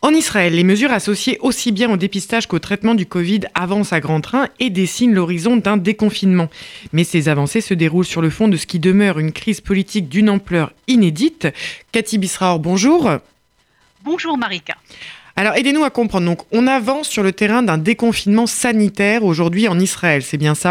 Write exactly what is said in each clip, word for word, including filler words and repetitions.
En Israël, les mesures associées aussi bien au dépistage qu'au traitement du Covid avancent à grands trains et dessinent l'horizon d'un déconfinement. Mais ces avancées se déroulent sur le fond de ce qui demeure une crise politique d'une ampleur inédite. Cathy Bisraor, bonjour. Bonjour Marika. Alors aidez-nous à comprendre. Donc, on avance sur le terrain d'un déconfinement sanitaire aujourd'hui en Israël, c'est bien ça ?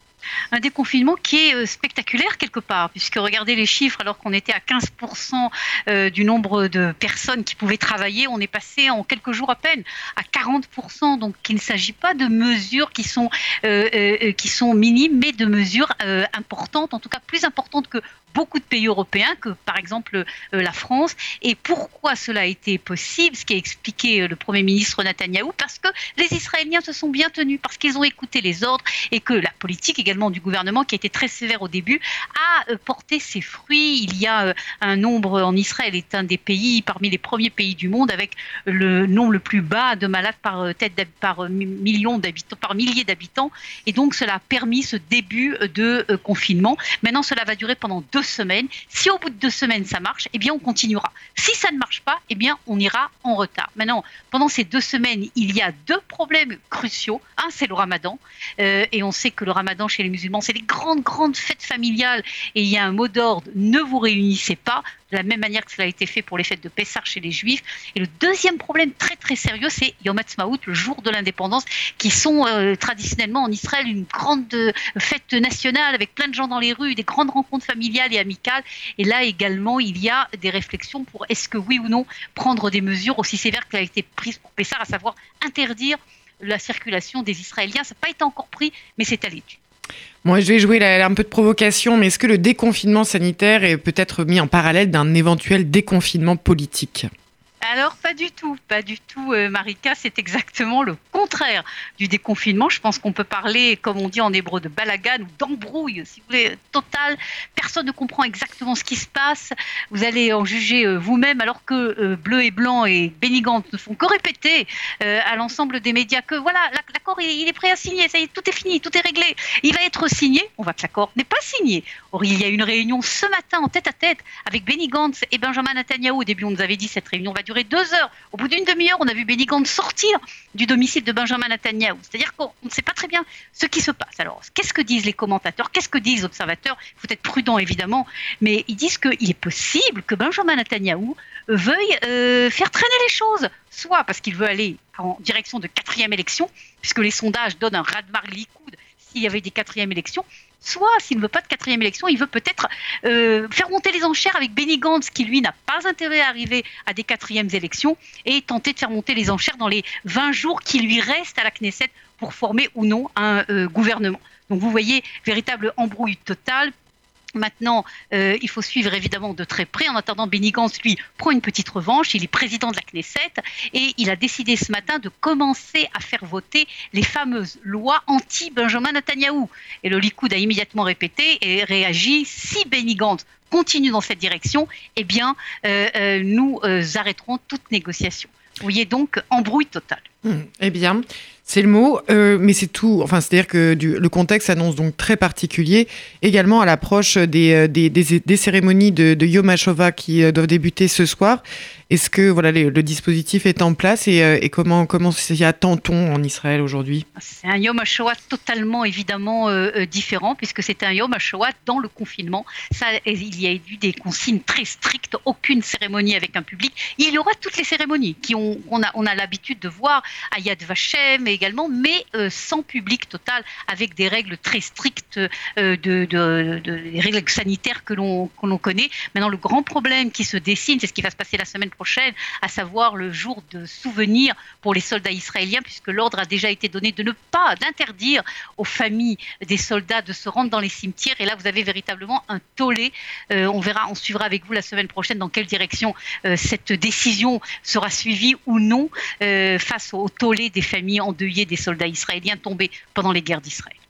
Un déconfinement qui est spectaculaire quelque part, puisque regardez les chiffres, alors qu'on était à quinze pour cent du nombre de personnes qui pouvaient travailler, on est passé en quelques jours à peine à quarante pour cent. Donc il ne s'agit pas de mesures qui sont, euh, euh, qui sont minimes, mais de mesures euh, importantes, en tout cas plus importantes que beaucoup de pays européens, que par exemple euh, la France. Et pourquoi cela a été possible, ce qu'a expliqué euh, le Premier ministre Netanyahou, parce que les Israéliens se sont bien tenus, parce qu'ils ont écouté les ordres et que la politique également du gouvernement, qui a été très sévère au début, a euh, porté ses fruits. Il y a euh, un nombre, en Israël est un des pays, parmi les premiers pays du monde, avec le nombre le plus bas de malades par euh, tête par euh, million d'habitants, par milliers d'habitants. Et donc cela a permis ce début de euh, confinement. Maintenant, cela va durer pendant deux semaines. Si au bout de deux semaines ça marche, eh bien on continuera. Si ça ne marche pas, eh bien on ira en retard. Maintenant, pendant ces deux semaines, il y a deux problèmes cruciaux. Un, c'est le Ramadan, euh, et on sait que le Ramadan chez les musulmans, c'est des grandes grandes fêtes familiales, et il y a un mot d'ordre: ne vous réunissez pas, de la même manière que cela a été fait pour les fêtes de Pessah chez les Juifs. Et le deuxième problème très très sérieux, c'est Yom Ha'atzmaut, le jour de l'indépendance, qui sont euh, traditionnellement en Israël une grande euh, fête nationale avec plein de gens dans les rues, des grandes rencontres familiales et amicales. Et là également, il y a des réflexions pour est-ce que oui ou non prendre des mesures aussi sévères qu'elle a été prise pour Pessah, à savoir interdire la circulation des Israéliens. Ça n'a pas été encore pris, mais c'est à l'étude. Moi, je vais jouer là, un peu de provocation, mais est-ce que le déconfinement sanitaire est peut-être mis en parallèle d'un éventuel déconfinement politique ? Alors, pas du tout, pas du tout, euh, Marika, c'est exactement le contraire du déconfinement. Je pense qu'on peut parler, comme on dit en hébreu, de balagan ou d'embrouille, si vous voulez, totale. Personne ne comprend exactement ce qui se passe. Vous allez en juger euh, vous-même, alors que euh, Bleu et Blanc et Benny Gantz ne font que répéter euh, à l'ensemble des médias que voilà, l'accord il, il est prêt à signer, ça y est, tout est fini, tout est réglé. Il va être signé, on voit que l'accord n'est pas signé. Or, il y a une réunion ce matin en tête-à-tête avec Benny Gantz et Benjamin Netanyahou. Au début, on nous avait dit cette réunion va durer deux heures. Au bout d'une demi-heure, on a vu Benny Gantz sortir du domicile de Benjamin Netanyahou. C'est-à-dire qu'on ne sait pas très bien ce qui se passe. Alors, qu'est-ce que disent les commentateurs ? Qu'est-ce que disent les observateurs ? Il faut être prudent, évidemment, mais ils disent qu'il est possible que Benjamin Netanyahou veuille euh, faire traîner les choses, soit parce qu'il veut aller en direction de quatrième élection, puisque les sondages donnent un raz-de-marée Likoud s'il y avait des quatrièmes élections, soit, s'il ne veut pas de quatrième élection, il veut peut-être euh, faire monter les enchères avec Benny Gantz, qui lui n'a pas intérêt à arriver à des quatrièmes élections, et tenter de faire monter les enchères dans les vingt jours qui lui restent à la Knesset pour former ou non un euh, gouvernement. Donc vous voyez, véritable embrouille totale. Maintenant, euh, il faut suivre évidemment de très près. En attendant, Benny Gantz, lui, prend une petite revanche. Il est président de la Knesset et il a décidé ce matin de commencer à faire voter les fameuses lois anti-Benjamin Netanyahou. Et le Likoud a immédiatement répété et réagi: si Benny Gantz continue dans cette direction, eh bien, euh, euh, nous euh, arrêterons toute négociation. Vous voyez donc, embrouille totale. Mmh, eh bien, c'est le mot, euh, mais c'est tout. Enfin, c'est-à-dire que du, le contexte s'annonce donc très particulier, également à l'approche des, des, des, des cérémonies de, de Yom HaShoah qui euh, doivent débuter ce soir. Est-ce que voilà, les, le dispositif est en place et, euh, et comment, comment s'y attend-on en Israël aujourd'hui ? C'est un Yom HaShoah totalement, évidemment, euh, différent, puisque c'est un Yom HaShoah dans le confinement. Ça, il y a eu des consignes très strictes, aucune cérémonie avec un public. Il y aura toutes les cérémonies qu'on on a, on a l'habitude de voir à Yad Vashem également, mais euh, sans public total, avec des règles très strictes, euh, de, de, de, de, des règles sanitaires que l'on, que l'on connaît. Maintenant, le grand problème qui se dessine, c'est ce qui va se passer la semaine prochaine, à savoir le jour de souvenir pour les soldats israéliens, puisque l'ordre a déjà été donné de ne pas, d'interdire aux familles des soldats de se rendre dans les cimetières. Et là, vous avez véritablement un tollé. Euh, on verra, on suivra avec vous la semaine prochaine dans quelle direction euh, cette décision sera suivie ou non euh, face au tollé des familles endeuillées des soldats israéliens tombés pendant les guerres d'Israël.